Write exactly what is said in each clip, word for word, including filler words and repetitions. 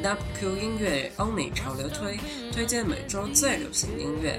W Q 音乐欧美潮流推，推荐每周最流行音乐。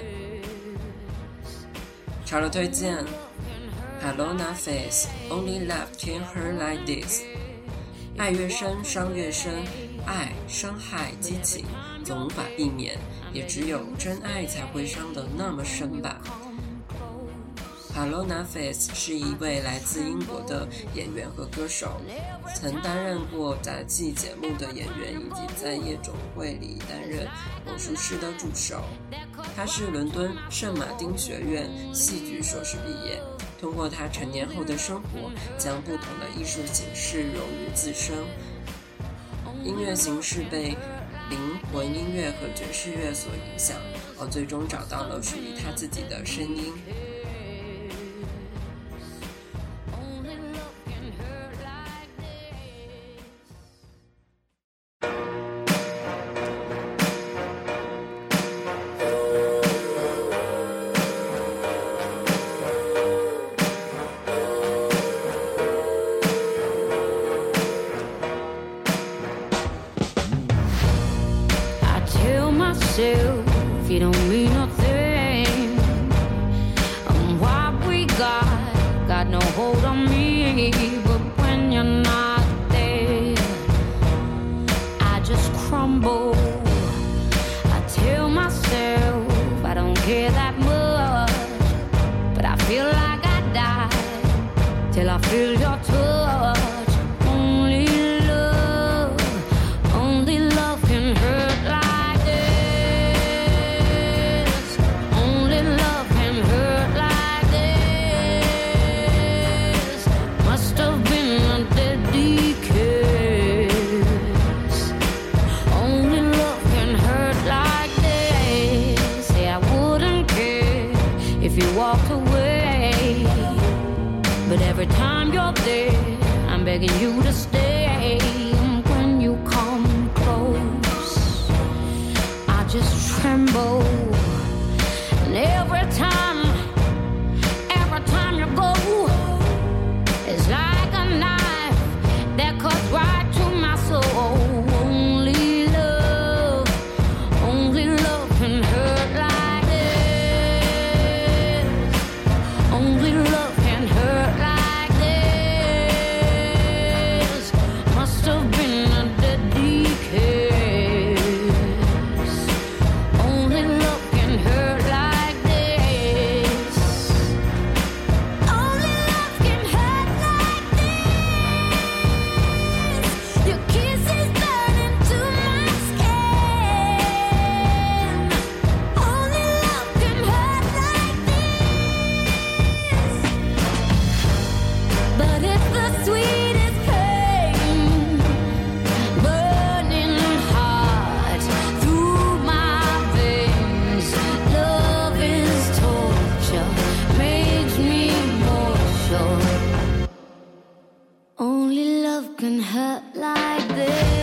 潮流推荐 Palona Faith Only Love Can Hurt Like This。 爱越深伤越深，爱伤害激情总无法避免，也只有真爱才会伤得那么深吧。Palona Faith 是一位来自英国的演员和歌手，曾担任过杂技节目的演员，以及在夜总会里担任魔术师的助手。他是伦敦圣马丁学院戏剧硕士毕业，通过他成年后的生活，将不同的艺术形式融于自身。音乐形式被灵魂音乐和爵士乐所影响，而最终找到了属于他自己的声音。 If you don't mean nothing, and what we got got no hold on me. But when you're not there, I just crumble. I tell myself I don't care that much, but I feel like I die till I feel your touch. Only love, only love can hurt like walked away, but every time you're there, I'm begging you to stay. And when you come close, I just tremble. And every time, every time you go, it's like a knife that cuts right to my soul. Only love, only love can hurt like only love can hurt like this. Must have been a deadly kiss. Only love can hurt like this. Only love can hurt like this. Your kisses burn into my skin. Only love can hurt like this. But it's the sweetest pain, burning hot through my veins. Love is torture, makes me more sure. Only love can hurt like this.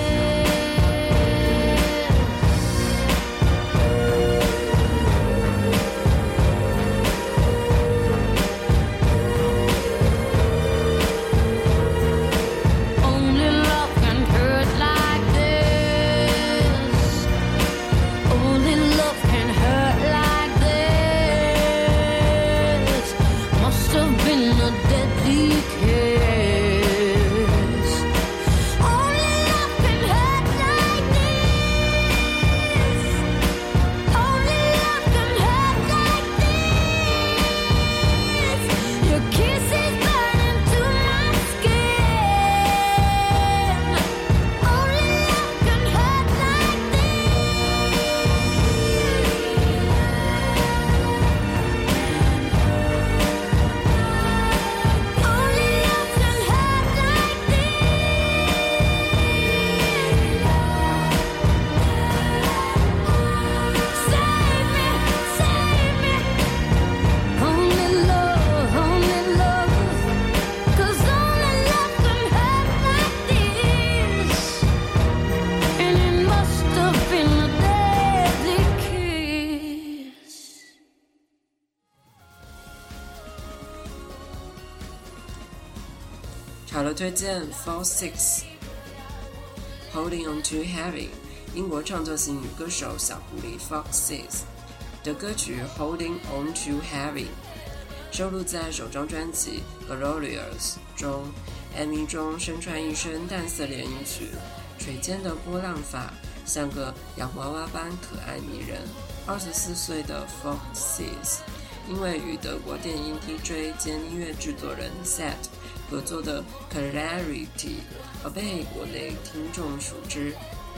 潮流推荐 Fall Six Holding On Too Heavy 英国创作型女歌手小狐狸 Foxes 的歌曲 Holding On Too Heavy， 收录在首张专辑 Glorious 中。M V 中身穿一身淡色连衣裙，垂肩的波浪发像个洋娃娃般可爱迷人。二十四岁的 Foxes 因为与德国电音 D J 兼音乐制作人 Set 合作的 Clarity 而被国内听众熟知。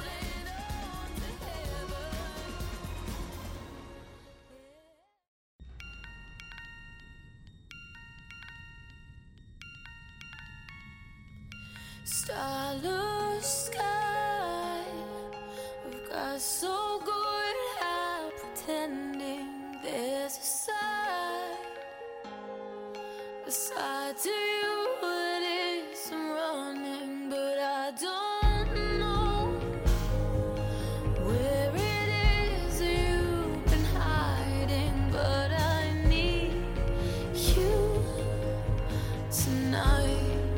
Starless sky, we've got so good at pretending there's a side, a side to you that isn't running, but I don't know where it is you've been hiding, but I need you tonight.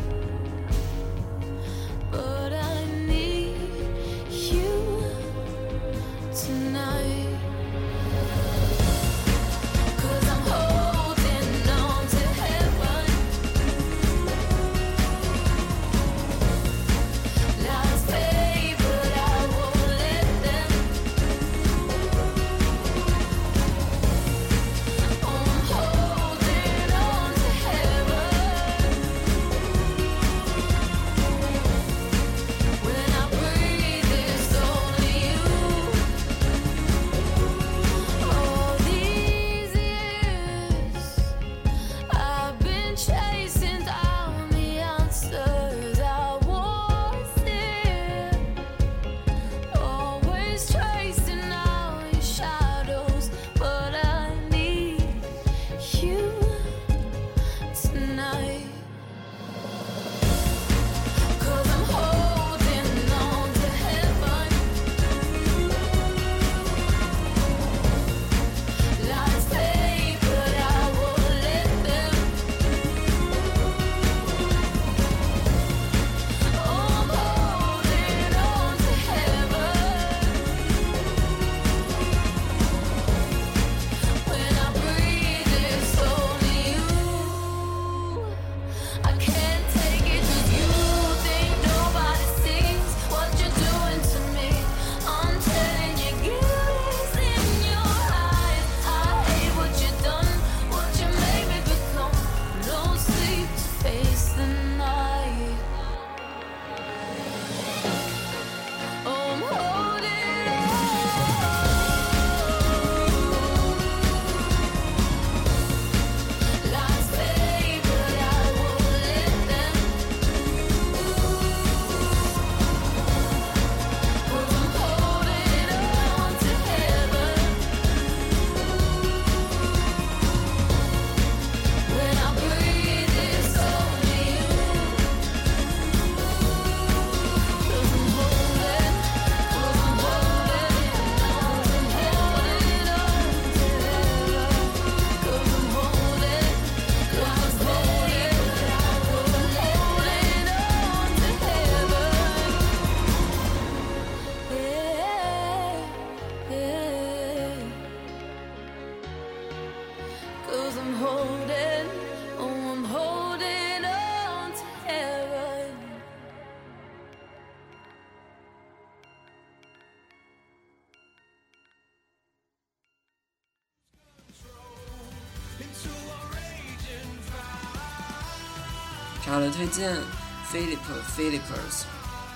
查了推荐 Philip Philippers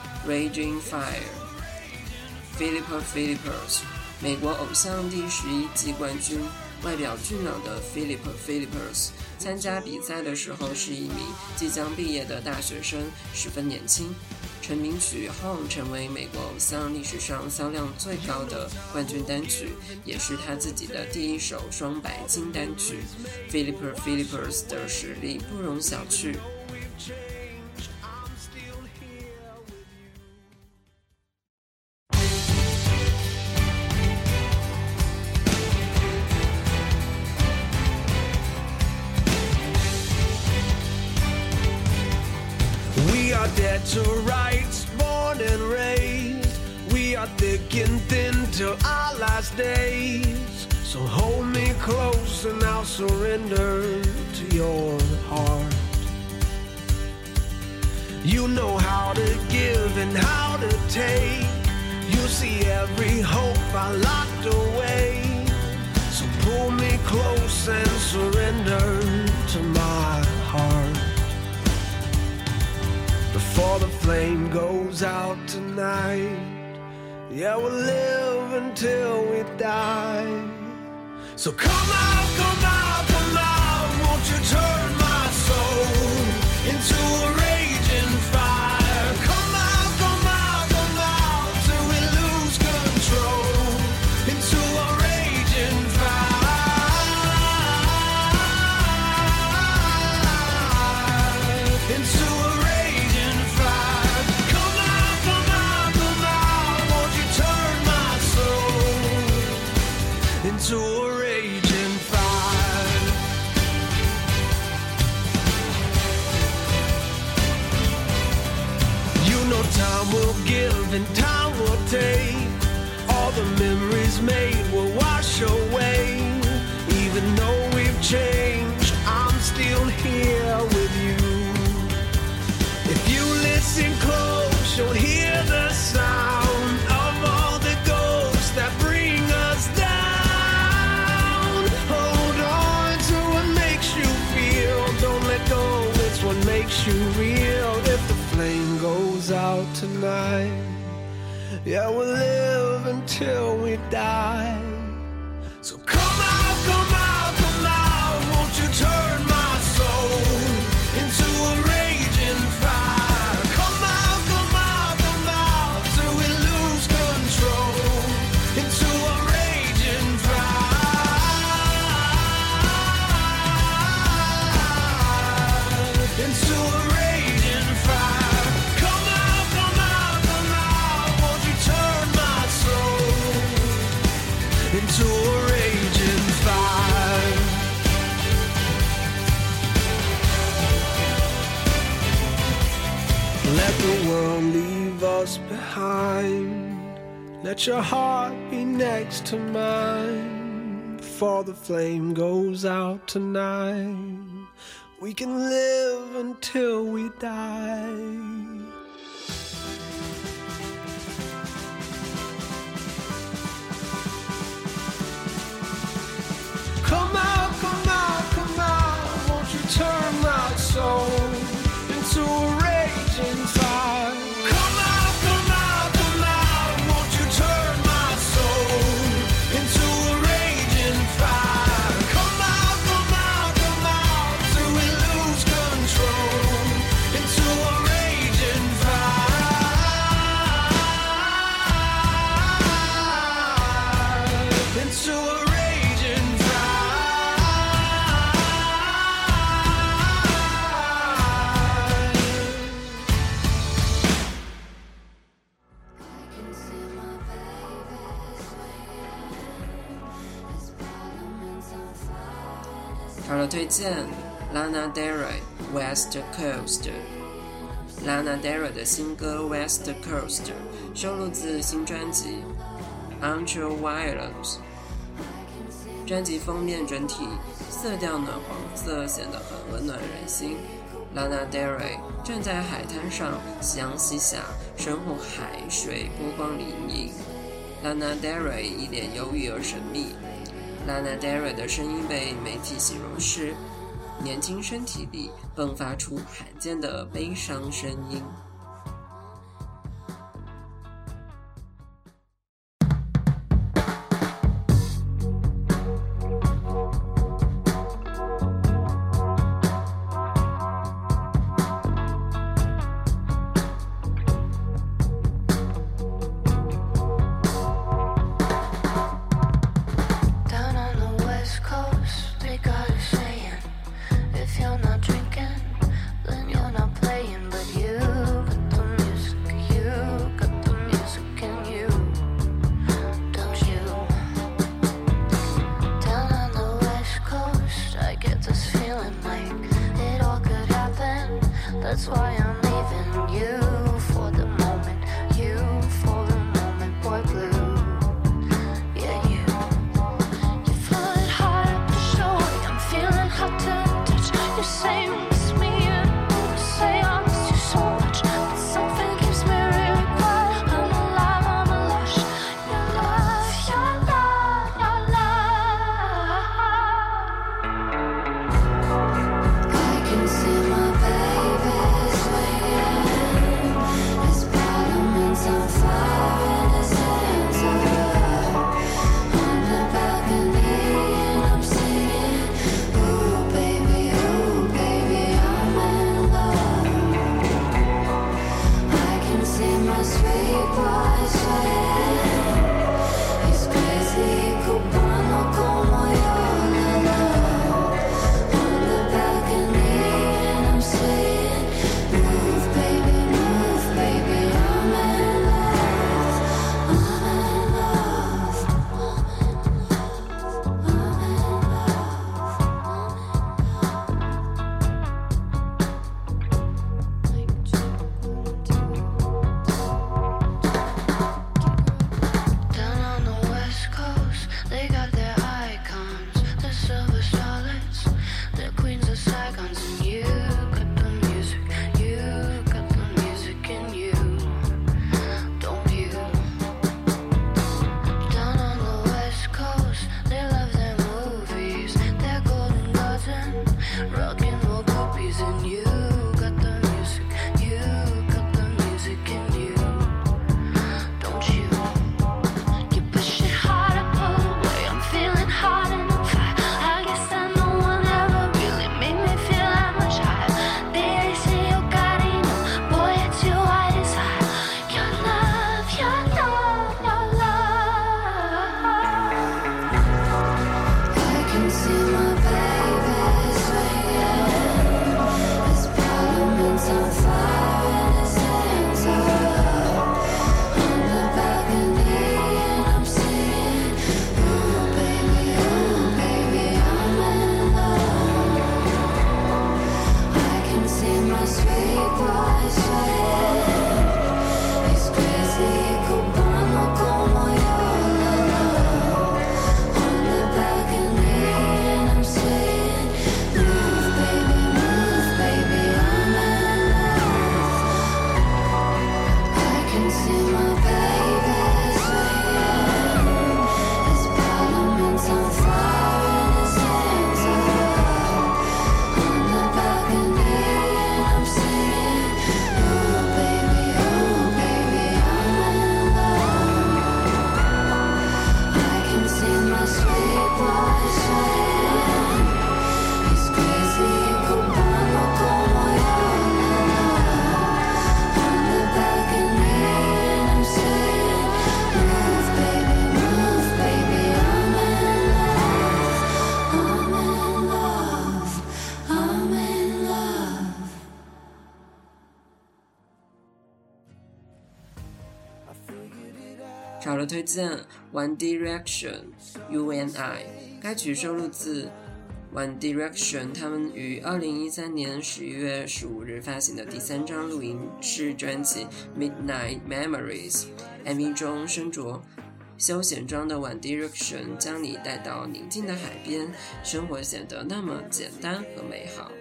Raging Fire Philip Philippers 美国偶像第十一季冠军，外表俊朗的 Philip Philippers 参加比赛的时候是一名即将毕业的大学生，十分年轻。成名曲 Home 成为美国偶像历史上销量最高的冠军单曲，也是他自己的第一首双白金单曲。Philip Philippers 的实力不容小觑。 We are dead to rights, born and raised. We are thick thick and thin till our last days. So hold me close and I'll surrender to your heart. You know how to give and how to take. You see every hope I locked away. So pull me close and surrender to my heart. Before the flame goes out tonight, yeah, we'll live until we die. So come out, come out, come out, won't you turn my soul into a raging fire? Come out, come out, come out, till we lose control into a raging fire. Into a raging fire. Come out, come out, come out, won't you turn my soul into a time will give and time will take. All the memories made will wash away. Even though we've changed, I'm still here with you. If you listen close, you'll hear the sound of all the ghosts that bring us down. Hold on to what makes you feel. Don't let go, it's what makes you real. If the flame goes out tonight, yeah, we'll live until we die. So come out, come out, come out, won't you turn my soul into a raging fire? Come out, come out, come out, till we lose control into a raging fire. Into a raging fire. Come out, come out, come out, won't you turn my soul into a raging fire. Let the world leave us behind. Let your heart be next to mine. Before the flame goes out tonight, we can live until we die. Come out, come out, come out, won't you turn my soul into a raging fire? Come out, come out, come out, won't you turn my soul into a raging fire? Come out, come out, come out, till we lose control into a raging fire. Into a raging 好了，推荐 Lana Del Rey West Coast。Lana Del Rey 的新歌 West Coast 收录自新专辑 Ultraviolence。专辑封面整体色调暖黄色，显得很温暖人心。Lana Del Rey 站在海滩上，夕阳西下，身后海水波光粼粼。Lana Del Rey 一脸忧郁而神秘。Lana Del Rey 的声音被媒体形容是年轻身体里迸发出罕见的悲伤声音。 That's why I'm leaving you for the moment, you for the moment, boy blue. in you. Got the music, you got the music in you. Don't you? You push it harder, pull away. I'm feeling hot and on fire. I guess that no one ever really made me feel that much higher. They say you got it, boy, it's you I desire. Your love, your love, your love. I can see my baby swinging. His parliament's on fire and his hands up on the balcony, and I'm singing, ooh baby, ooh baby, I'm in love. I can see my sweet boy swaying. He's crazy, cubano como yo, la la. On the balcony, and I'm saying, move baby, move baby, I'm in love. I can see my baby swinging. His parliament's on fire and his hands up on the balcony, and I'm saying, ooh baby, ooh baby, I'm in love. I can see my sweet boy swaying. He's crazy, cubano como yo, la la. On the balcony, and I'm saying, move baby, move baby, I'm in love. I'm in love, I'm in love. 潮流推荐 One Direction You and I， 该曲收录自 One Direction 他们于二零一三年十一月十五日发行的第三张录音室专辑 Midnight Memories。M V 中身着休闲装的 One Direction 将你带到宁静的海边，生活显得那么简单和美好。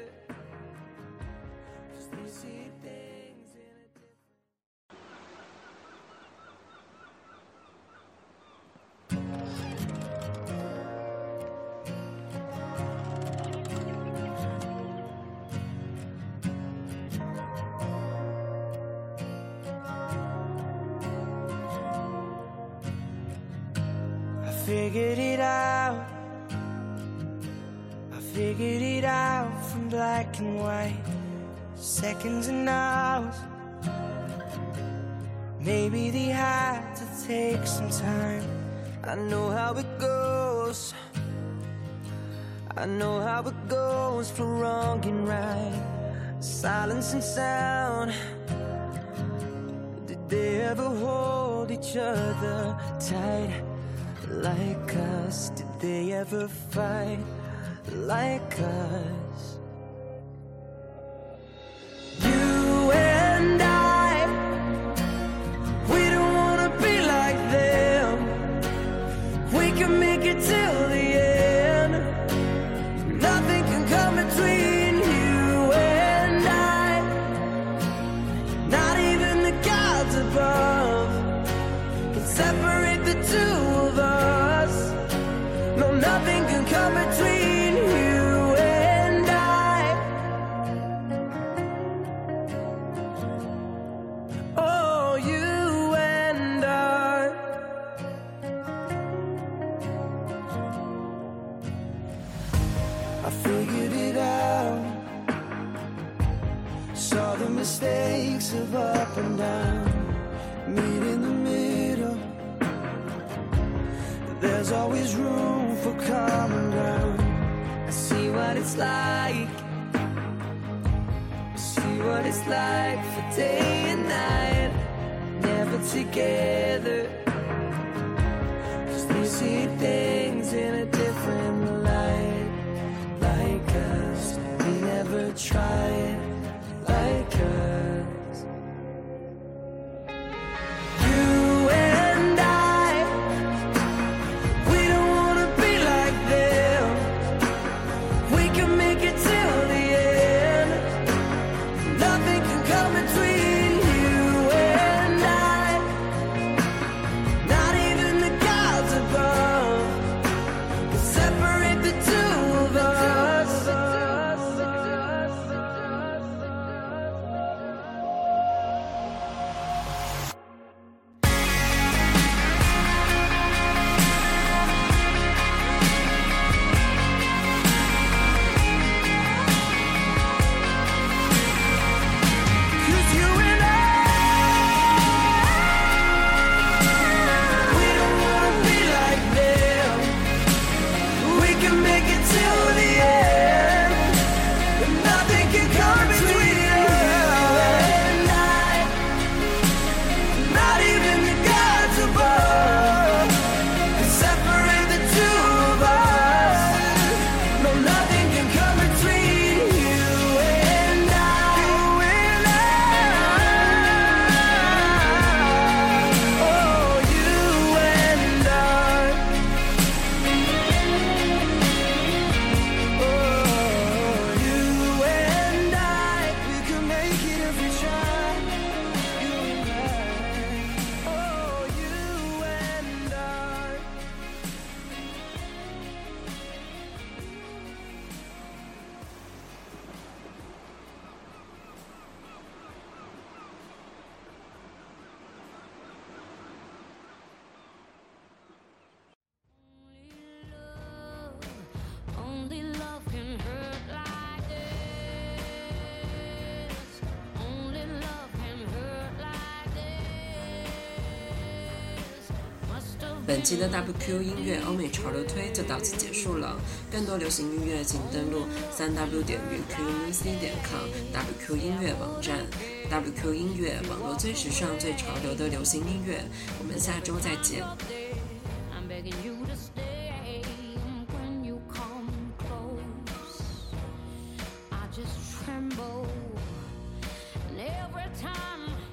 I figured it out. I figured it out from black and white, seconds and hours. Maybe they had to take some time. I know how it goes. I know how it goes for wrong and right, silence and sound. Did they ever hold each other tight like us? Did they ever fight like us? You and I, we don't wanna be like them. We can make it till the end. Nothing can come between you and I. Not even the gods above can separate the two of us. No, nothing can come between you and I. Oh, you and I. I figured it out. Saw the mistakes of up and down. Meet in the middle. There's always room for common ground. I see what it's like. I see what it's like for day and night, never together. 'Cause they see things in a different light, like us. We never tried like us. You and I, we don't wanna be like them. We can make it till the end. Nothing can come between you and I. Not even the gods above can separate the two of us. 本期的 W Q 音乐欧美潮流推就到此结束了。更多流行音乐请登录 三 w 点 q m c 点 com W Q 音乐网站。W Q 音乐，网络最时尚、最潮流的流行音乐。我们下周再见。 Tremble, and every time